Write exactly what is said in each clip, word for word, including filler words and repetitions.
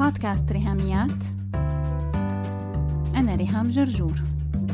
بودكاست ريهاميات. أنا ريهام جرجور.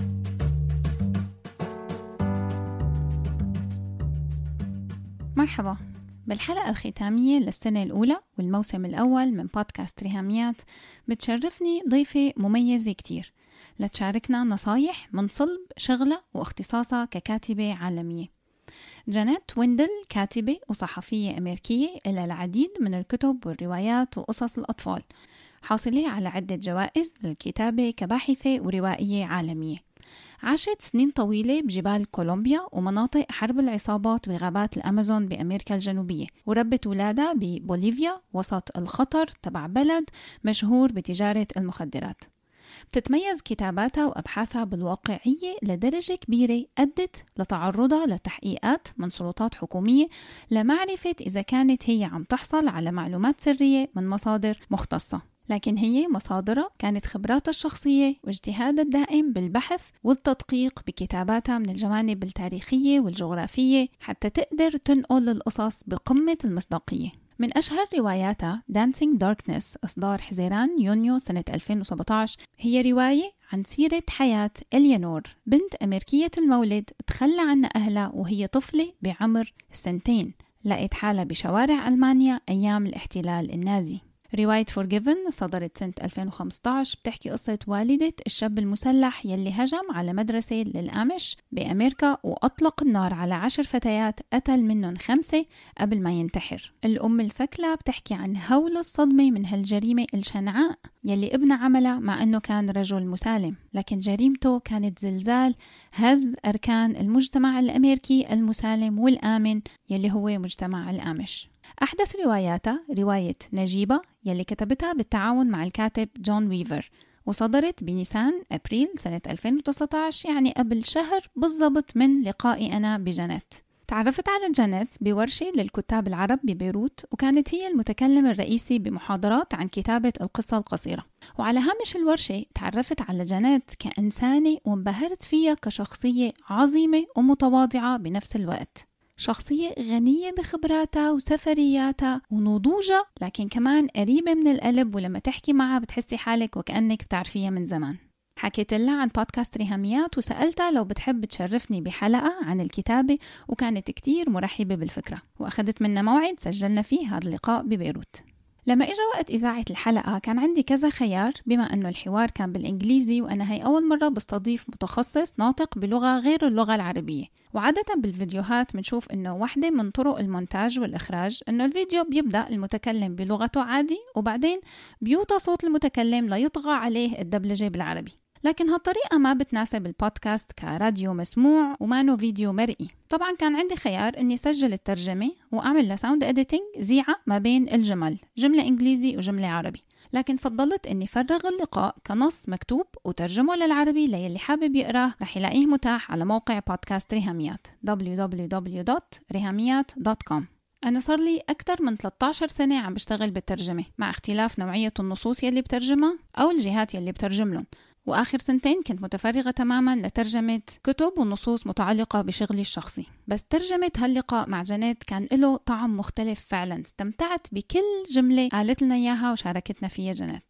مرحبا. بالحلقة الختامية للسنة الأولى والموسم الأول من بودكاست ريهاميات بتشرفني ضيفة مميزة كتير لتشاركنا نصايح من صلب شغلة واختصاصها ككاتبة عالمية. جانيت ويندل كاتبة وصحفية أمريكية إلى العديد من الكتب والروايات وقصص الأطفال، حاصلة على عدة جوائز للكتابة كباحثة وروائية عالمية. عاشت سنين طويلة بجبال كولومبيا ومناطق حرب العصابات بغابات الأمازون بأمريكا الجنوبية، وربت ولادها ببوليفيا وسط الخطر تبع بلد مشهور بتجارة المخدرات. بتتميز كتاباتها وأبحاثها بالواقعية لدرجة كبيرة أدت لتعرضها لتحقيقات من سلطات حكومية لمعرفة إذا كانت هي عم تحصل على معلومات سرية من مصادر مختصة، لكن هي مصادرها كانت خبراتها الشخصية واجتهادها الدائم بالبحث والتدقيق بكتاباتها من الجوانب التاريخية والجغرافية حتى تقدر تنقل القصص بقمة المصداقية. من أشهر رواياتها Dancing Darkness إصدار حزيران يونيو سنة ألفين وسبعة عشر، هي رواية عن سيرة حياة إليانور، بنت أمريكية المولد تخلى عنها أهلها وهي طفلة بعمر سنتين، لقيت حالها بشوارع ألمانيا أيام الاحتلال النازي. رواية Forgiven صدرت سنة ألفين وخمسة عشر، بتحكي قصة والدة الشاب المسلح يلي هجم على مدرسة للآمش بأمريكا وأطلق النار على عشر فتيات قتل منهم خمسة قبل ما ينتحر. الأم الفكلة بتحكي عن هول الصدمة من هالجريمة الشنعاء يلي ابنها عملها مع أنه كان رجل مسالم، لكن جريمته كانت زلزال هز أركان المجتمع الأمريكي المسالم والآمن يلي هو مجتمع الآمش. أحدث رواياتها رواية نجيبة يلي كتبتها بالتعاون مع الكاتب جون ويفر، وصدرت بنيسان أبريل سنة ألفين وتسعة عشر، يعني قبل شهر بالضبط من لقائي أنا بجانيت. تعرفت على جانيت بورشة للكتاب العرب ببيروت، وكانت هي المتكلم الرئيسي بمحاضرات عن كتابة القصة القصيرة. وعلى هامش الورشة تعرفت على جانيت كإنسانة وانبهرت فيها كشخصية عظيمة ومتواضعة بنفس الوقت، شخصية غنية بخبراتها وسفرياتها ونضوجها، لكن كمان قريبة من القلب، ولما تحكي معها بتحسي حالك وكأنك بتعرفيها من زمان. حكيت لها عن بودكاست ريهاميات وسألتها لو بتحب تشرفني بحلقة عن الكتابة، وكانت كتير مرحبة بالفكرة، وأخذت منا موعد سجلنا فيه هذا اللقاء ببيروت. لما إجا وقت إذاعة الحلقة كان عندي كذا خيار، بما أنه الحوار كان بالإنجليزي وأنا هي أول مرة بستضيف متخصص ناطق بلغة غير اللغة العربية. وعادة بالفيديوهات منشوف أنه واحدة من طرق المونتاج والإخراج أنه الفيديو بيبدأ المتكلم بلغته عادي وبعدين بيوطى صوت المتكلم ليطغى عليه الدبلجة بالعربي، لكن هالطريقة ما بتناسب البودكاست كراديو مسموع ومانو فيديو مرئي. طبعا كان عندي خيار اني سجل الترجمة واعمل لساوند اديتنج زيعة ما بين الجمل، جملة انجليزي وجملة عربي، لكن فضلت اني فرغ اللقاء كنص مكتوب وترجمه للعربي ليلي حابب يقراه رح يلاقيه متاح على موقع بودكاست ريهاميات دبليو دبليو دبليو دوت ريهاميات دوت كوم. أنا صار لي أكثر من ثلاثة عشر سنة عم بشتغل بالترجمة، مع اختلاف نوعية النصوص يلي بترجمها أو الجهات يلي بترجم لهم، وآخر سنتين كنت متفرغة تماماً لترجمة كتب ونصوص متعلقة بشغلي الشخصي. بس ترجمة هاللقاء مع جانيت كان له طعم مختلف فعلاً، استمتعت بكل جملة قالت لنا إياها وشاركتنا فيها جانيت.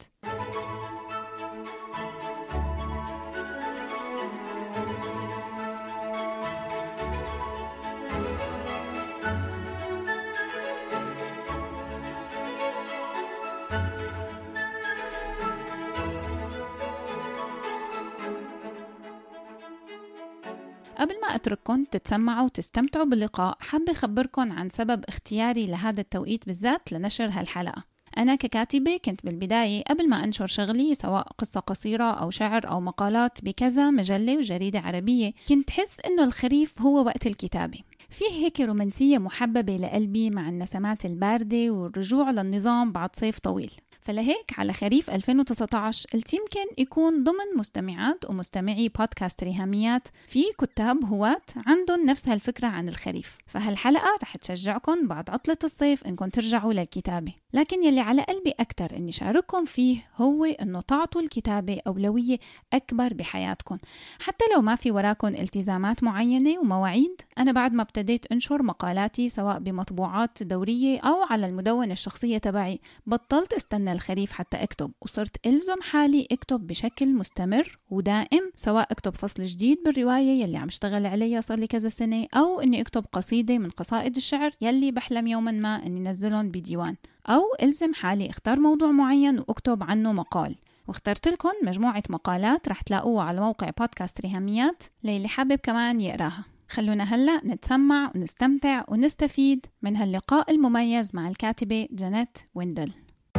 قبل ما أترككم تتسمعوا وتستمتعوا باللقاء، حابة أخبركم عن سبب اختياري لهذا التوقيت بالذات لنشر هالحلقة. أنا ككاتبة كنت بالبداية قبل ما أنشر شغلي سواء قصة قصيرة أو شعر أو مقالات بكذا مجلة وجريدة عربية، كنت حس إنه الخريف هو وقت الكتابة. فيه هيك رومانسية محببة لقلبي مع النسمات الباردة والرجوع للنظام بعد صيف طويل. فلهيك على خريف ألفين وتسعة عشر قلت يمكن يكون ضمن مستمعات ومستمعي بودكاست ريهاميات في كتاب هواة عندهم نفس هالفكرة عن الخريف، فهالحلقة رح تشجعكم بعد عطلة الصيف إنكم ترجعوا للكتابة. لكن يلي على قلبي أكتر إني شارككم فيه هو إنه تعطوا الكتابة أولوية أكبر بحياتكم، حتى لو ما في وراكم التزامات معينة ومواعيد. أنا بعد ما ابتديت أنشر مقالاتي سواء بمطبوعات دورية أو على المدونة الشخصية تبعي. بطلت استنى الخريف حتى أكتب، وصرت ألزم حالي أكتب بشكل مستمر ودائم، سواء أكتب فصل جديد بالرواية يلي عم اشتغل عليها صار لي كذا سنة، أو أني أكتب قصيدة من قصائد الشعر يلي بحلم يوما ما أني نزلهم بديوان، أو ألزم حالي اختار موضوع معين وأكتب عنه مقال. واخترت لكم مجموعة مقالات رح تلاقوها على موقع بودكاست ريهاميات للي حابب كمان يقراها. خلونا هلأ نتسمع ونستمتع ونستفيد من هاللقاء المميز مع الكاتبة جانيت ويندل.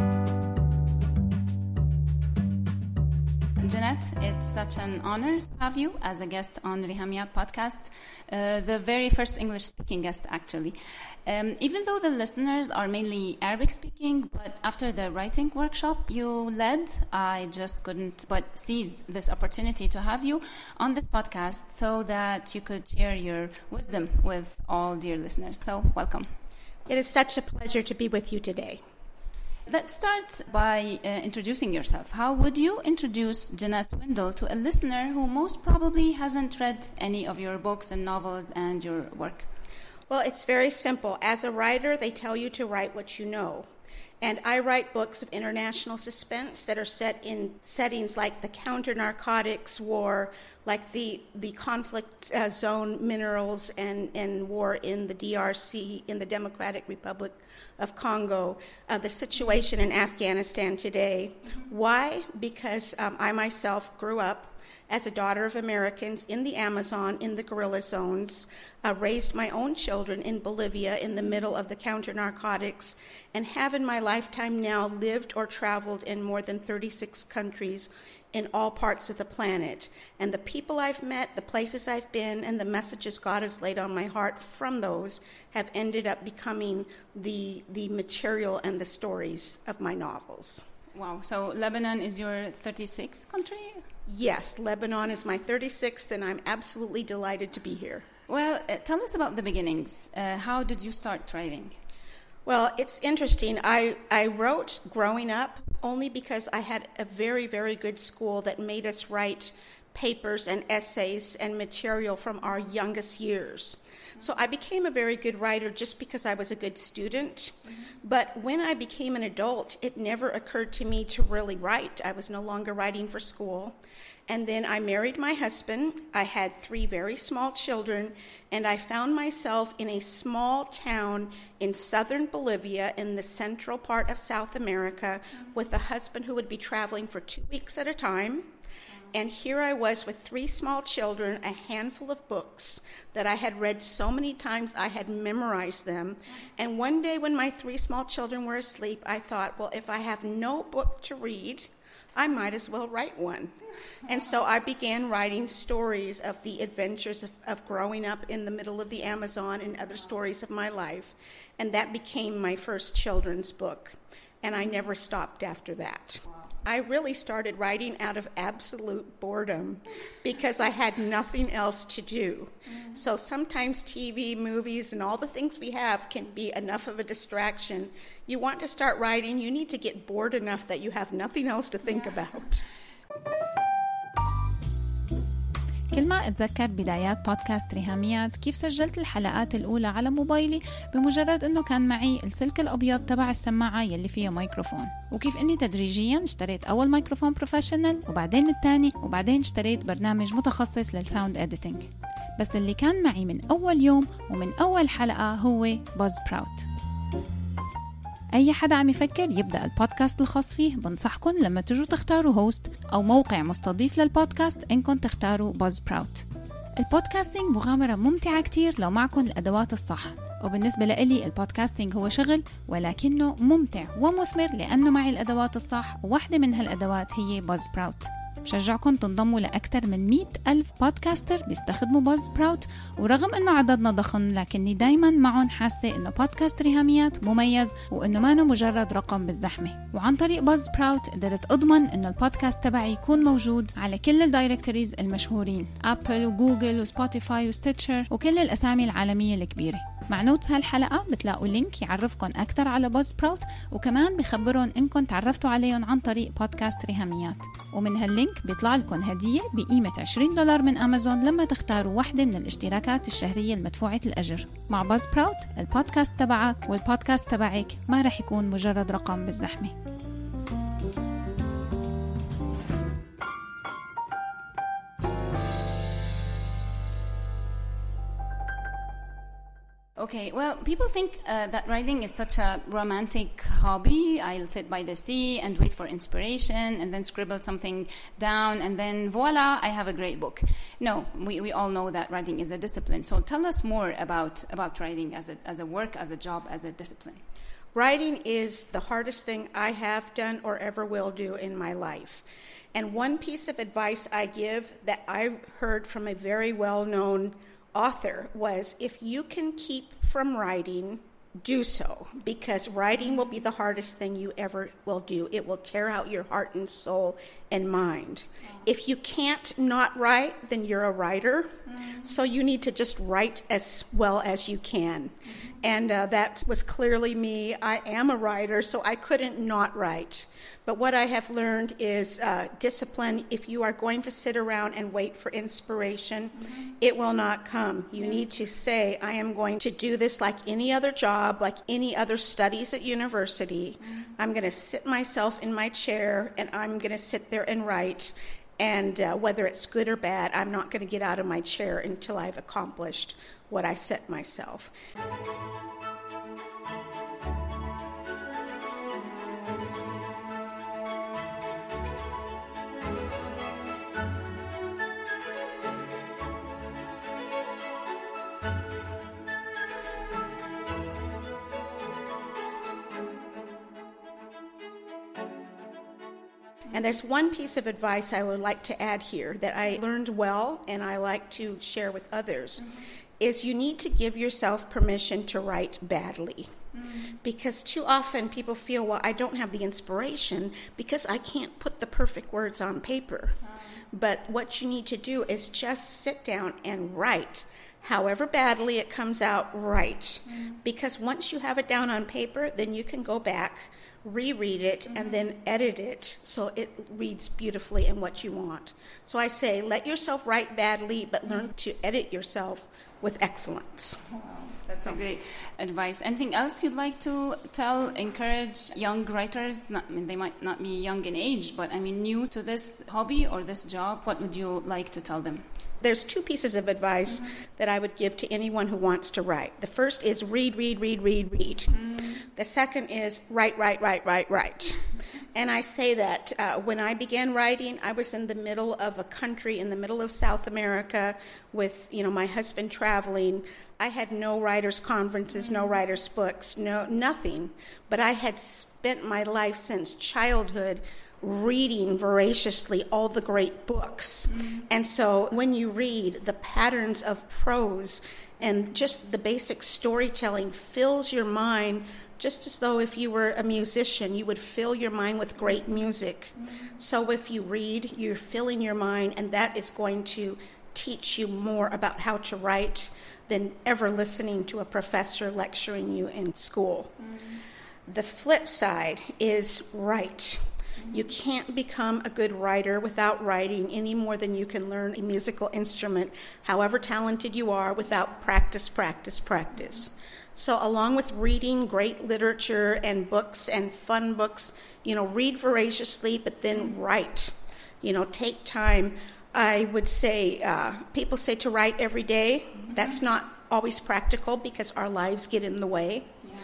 Janet, it's such an honor to have you as a guest on Rihamiat podcast, uh, the very first English-speaking guest, actually. Um, even though the listeners are mainly Arabic-speaking, but after the writing workshop you led, I just couldn't but seize this opportunity to have you on this podcast so that you could share your wisdom with all dear listeners. So, welcome. It is such a pleasure to be with you today. Let's start by uh, introducing yourself. How would you introduce Janet Windel to a listener who most probably hasn't read any of your books and novels and your work? Well, it's very simple. As a writer, they tell you to write what you know. And I write books of international suspense that are set in settings like the counter-narcotics war, like the, the conflict uh, zone minerals and, and war in the D R C, in the Democratic Republic of Congo, uh, the situation in Afghanistan today. Why? Because um, I myself grew up as a daughter of Americans in the Amazon, in the guerrilla zones, uh, raised my own children in Bolivia in the middle of the counter-narcotics, and have in my lifetime now lived or traveled in more than thirty-six countries in all parts of the planet. And the people I've met, the places I've been, and the messages God has laid on my heart from those have ended up becoming the, the material and the stories of my novels. Wow, so Lebanon is your thirty-sixth country? Yes, Lebanon is my thirty-sixth, and I'm absolutely delighted to be here. Well, uh, tell us about the beginnings. Uh, how did you start writing? Well, it's interesting. I, I wrote growing up only because I had a very, very good school that made us write papers and essays and material from our youngest years. So I became a very good writer just because I was a good student. Mm-hmm. But when I became an adult, it never occurred to me to really write. I was no longer writing for school. And then I married my husband. I had three very small children, and I found myself in a small town in southern Bolivia in the central part of South America with a husband who would be traveling for two weeks at a time. And here I was with three small children, a handful of books that I had read so many times I had memorized them. And one day when my three small children were asleep, I thought, well, if I have no book to read, I might as well write one. And so I began writing stories of the adventures of, of growing up in the middle of the Amazon and other stories of my life. And that became my first children's book. And I never stopped after that. I really started writing out of absolute boredom because I had nothing else to do. Mm. So sometimes T V, movies, and all the things we have can be enough of a distraction. You want to start writing, you need to get bored enough that you have nothing else to think yeah. about. كل ما أتذكر بدايات بودكاست ريهاميات كيف سجلت الحلقات الأولى على موبايلي بمجرد أنه كان معي السلك الأبيض تبع السماعة يلي فيها ميكروفون، وكيف أني تدريجياً اشتريت أول ميكروفون بروفيشنال وبعدين الثاني وبعدين اشتريت برنامج متخصص للساوند إديتينج. بس اللي كان معي من أول يوم ومن أول حلقة هو باز براوت. أي حدا عم يفكر يبدأ البودكاست الخاص فيه بنصحكن لما تجوا تختاروا هوست أو موقع مستضيف للبودكاست إنكم تختاروا باز براوت. البودكاستينج مغامرة ممتعة كتير لو معكم الأدوات الصح، وبالنسبة لإلي البودكاستينج هو شغل ولكنه ممتع ومثمر لأنه معي الأدوات الصح، وواحدة من هالأدوات هي باز براوت. بشجعكم تنضموا لأكثر من مئة ألف بودكاستر بيستخدموا باز براوت، ورغم أنه عددنا ضخم لكني دايما معهم حاسة أنه بودكاست ريهاميات مميز وأنه ما مجرد رقم بالزحمة. وعن طريق باز براوت قدرت أضمن أنه البودكاست تبعي يكون موجود على كل الدايركتوريز المشهورين، أبل وجوجل وسبوتيفاي وستيتشر وكل الأسامي العالمية الكبيرة. مع نوتس هالحلقة بتلاقوا لينك يعرفكن أكتر على بازسبراوت، وكمان بخبرون إنكن تعرفتوا عليهم عن طريق بودكاست ريهاميات. ومن هاللينك بيطلع لكم هدية بقيمة عشرين دولار من أمازون لما تختاروا واحدة من الاشتراكات الشهرية المدفوعة الأجر. مع بازسبراوت البودكاست تبعك والبودكاست تبعك ما رح يكون مجرد رقم بالزحمة. Okay, well, people think uh, that writing is such a romantic hobby. I'll sit by the sea and wait for inspiration and then scribble something down and then voila, I have a great book. No, we, we all know that writing is a discipline. So tell us more about, about writing as a, as a work, as a job, as a discipline. Writing is the hardest thing I have done or ever will do in my life. And one piece of advice I give that I heard from a very well-known author was, if you can keep from writing, do so, because writing will be the hardest thing you ever will do. It will tear out your heart and soul and mind. Wow. If you can't not write, then you're a writer. Mm-hmm. So you need to just write as well as you can. Mm-hmm. And uh, that was clearly me. I am a writer, so I couldn't not write. But what I have learned is uh, discipline. If you are going to sit around and wait for inspiration, mm-hmm. it will not come. You yeah. need to say, I am going to do this like any other job, like any other studies at university. Mm-hmm. I'm going to sit myself in my chair and I'm going to sit there and write. And uh, whether it's good or bad, I'm not going to get out of my chair until I've accomplished what I set myself. And there's one piece of advice I would like to add here that I learned well and I like to share with others, mm-hmm. is you need to give yourself permission to write badly. Mm-hmm. Because too often people feel, well, I don't have the inspiration because I can't put the perfect words on paper. Mm-hmm. But what you need to do is just sit down and write. However badly it comes out, write. Mm-hmm. Because once you have it down on paper, then you can go back, reread it, mm-hmm. and then edit it so it reads beautifully and what you want. So I say, let yourself write badly, but learn to edit yourself with excellence. Wow, that's a great advice. Anything else you'd like to tell, encourage young writers? Not, I mean, they might not be young in age, but I mean, new to this hobby or this job. What would you like to tell them? There's two pieces of advice mm-hmm. that I would give to anyone who wants to write. The first is read, read, read, read, read. Mm-hmm. The second is write, write, write, write, write. And I say that uh, when I began writing, I was in the middle of a country, in the middle of South America with, you know, my husband traveling. I had no writers' conferences, no writers' books, no nothing. But I had spent my life since childhood reading voraciously all the great books. Mm-hmm. And so when you read, the patterns of prose and just the basic storytelling fills your mind just as though if you were a musician, you would fill your mind with great music. Mm-hmm. So if you read, you're filling your mind, and that is going to teach you more about how to write than ever listening to a professor lecturing you in school. Mm-hmm. The flip side is write. You can't become a good writer without writing any more than you can learn a musical instrument, however talented you are, without practice, practice, practice. So along with reading great literature and books and fun books, you know, read voraciously, but then write. You know, take time. I would say, uh, people say to write every day. Mm-hmm. That's not always practical because our lives get in the way.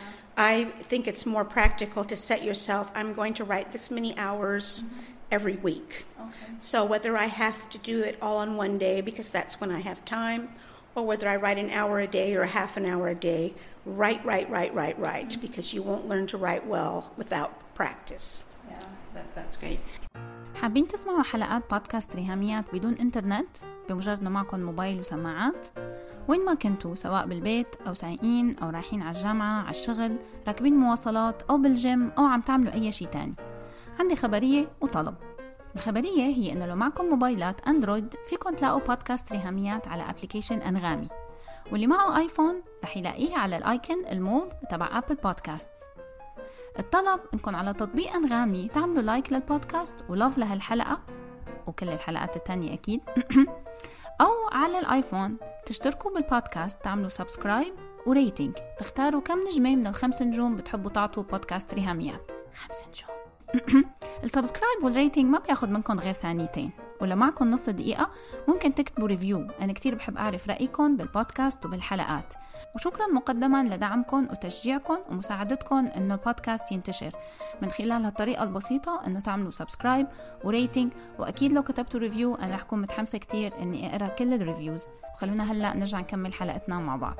I think it's more practical to set yourself, I'm going to write this many hours mm-hmm. every week. Okay. So whether I have to do it all on one day because that's when I have time, or whether I write an hour a day or half an hour a day, write, write, write, write, write, mm-hmm. because you won't learn to write well without practice. Yeah, that, that's great. حابين تسمعوا حلقات بودكاست ريهاميات بدون إنترنت بمجرد إنه معكم موبايل وسماعات؟ وين ما كنتوا، سواء بالبيت أو سايقين أو رايحين على الجامعة، على الشغل، راكبين مواصلات أو بالجيم أو عم تعملوا أي شيء تاني، عندي خبرية وطلب. الخبرية هي إنه لو معكم موبايلات أندرويد فيكم تلاقوا بودكاست ريهاميات على أبليكيشن أنغامي، واللي معه آيفون رح يلاقيه على الآيكون الموف تبع أبل بودكاست. الطلب إنكم على تطبيق أنغامي تعملوا لايك للبودكاست ولوف لهالحلقة وكل الحلقات التانية أكيد أو على الآيفون تشتركوا بالبودكاست، تعملوا سبسكرايب وريتينج، تختاروا كم نجمة من الخمس نجوم بتحبوا تعطوا بودكاست ريهاميات. خمس نجوم. السبسكرايب والريتينج ما بياخد منكم غير ثانيتين، ولو معكم نص دقيقة ممكن تكتبوا ريفيو. أنا كتير بحب أعرف رأيكم بالبودكاست وبالحلقات. وشكرا مقدما لدعمكم وتشجيعكم ومساعدتكم إنه البودكاست ينتشر من خلال هالطريقة البسيطة، إنه تعملوا سبسكرايب وريتينج. وأكيد لو كتبتوا ريفيو أنا رح أكون متحمسة كتير إني أقرأ كل الريفيوز. وخلونا هلأ نرجع نكمل حلقتنا مع بعض.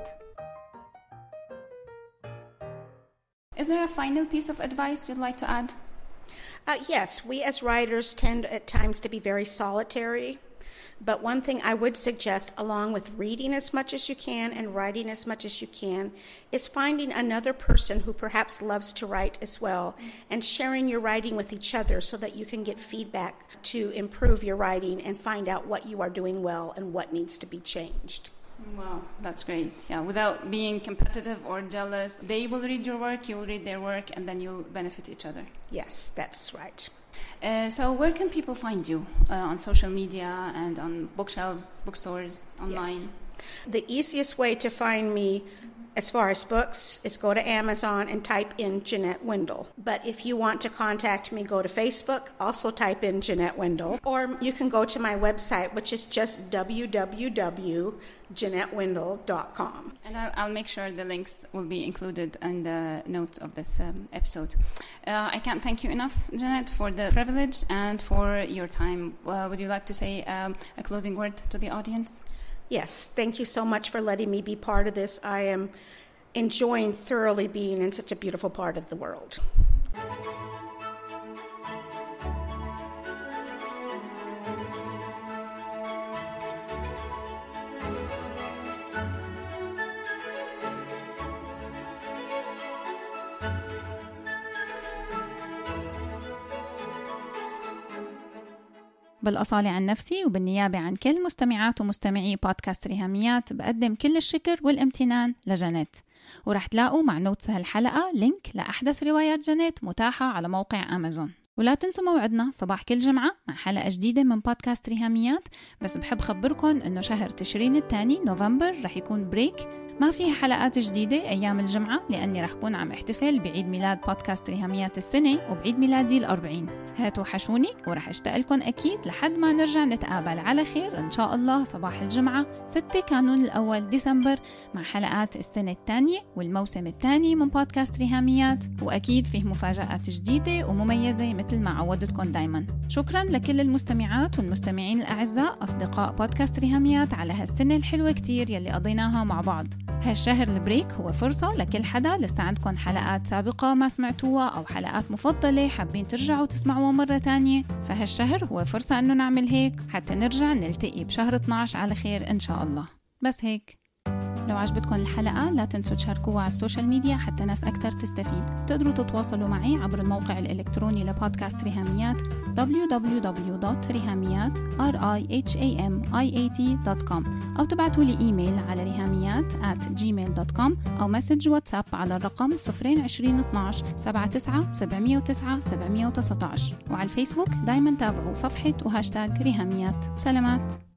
Is there a final piece of advice you'd like to add? Uh, yes, we as writers tend at times to be very solitary, but one thing I would suggest, along with reading as much as you can and writing as much as you can, is finding another person who perhaps loves to write as well and sharing your writing with each other so that you can get feedback to improve your writing and find out what you are doing well and what needs to be changed. Wow, that's great. Yeah, without being competitive or jealous, they will read your work, you will read their work, and then you'll benefit each other. Yes, that's right. Uh, so where can people find you? Uh, on social media and on bookshelves, bookstores, online? Yes. The easiest way to find me as far as books is go to Amazon and type in Jeanette Wendell. But if you want to contact me, go to Facebook, also type in Jeanette Wendell. Or you can go to my website, which is just w w w dot jeanette wendell dot com. And I'll, I'll make sure the links will be included in the notes of this um, episode. Uh, I can't thank you enough, Jeanette, for the privilege and for your time. Uh, would you like to say um, a closing word to the audience? Yes, thank you so much for letting me be part of this. I am enjoying thoroughly being in such a beautiful part of the world. بالأصالة عن نفسي وبالنيابة عن كل مستمعات ومستمعي بودكاست ريهاميات بقدم كل الشكر والامتنان لجانيت. ورح تلاقوا مع نوتس هالحلقة لينك لأحدث روايات جانيت متاحة على موقع أمازون. ولا تنسوا موعدنا صباح كل جمعة مع حلقة جديدة من بودكاست ريهاميات. بس بحب خبركم إنه شهر تشرين الثاني نوفمبر رح يكون بريك، ما فيها حلقات جديدة أيام الجمعة، لأني رح كون عم احتفل بعيد ميلاد بودكاست ريهاميات السنة وبعيد ميلادي الأربعين. هاتوا حشوني ورح اشتاق لكم أكيد لحد ما نرجع نتقابل على خير إن شاء الله صباح الجمعة ستة كانون الأول ديسمبر مع حلقات السنة الثانية والموسم الثاني من بودكاست ريهاميات. وأكيد فيه مفاجآت جديدة ومميزة مثل ما عودتكم دايما. شكرا لكل المستمعات والمستمعين الأعزاء أصدقاء بودكاست ريهاميات على هالسنة الحلوة كتير يلي قضيناها مع بعض. هالشهر البريك هو فرصة لكل حدا لسه عندكم حلقات سابقة ما سمعتوها أو حلقات مفضلة حابين ترجعوا تسمعوها مرة تانية، فهالشهر هو فرصة أنه نعمل هيك حتى نرجع نلتقي بشهر اثناشر على خير إن شاء الله. بس هيك. لو عجبتكم الحلقة لا تنسوا تشاركوها على السوشيال ميديا حتى ناس أكتر تستفيد. تقدروا تتواصلوا معي عبر الموقع الإلكتروني لبودكاست ريهاميات دبليو دبليو دبليو دوت ريهاميات دوت كوم أو تبعتوا لي إيميل على ريهاميات آت جيميل دوت كوم أو مسج واتساب على الرقم صفر عشرين اثناش سبعة تسعة سبعمية وتسعة سبعمية وتسعتاشر. وعلى الفيسبوك دايما تابعوا صفحة وهاشتاج ريهاميات. سلامات.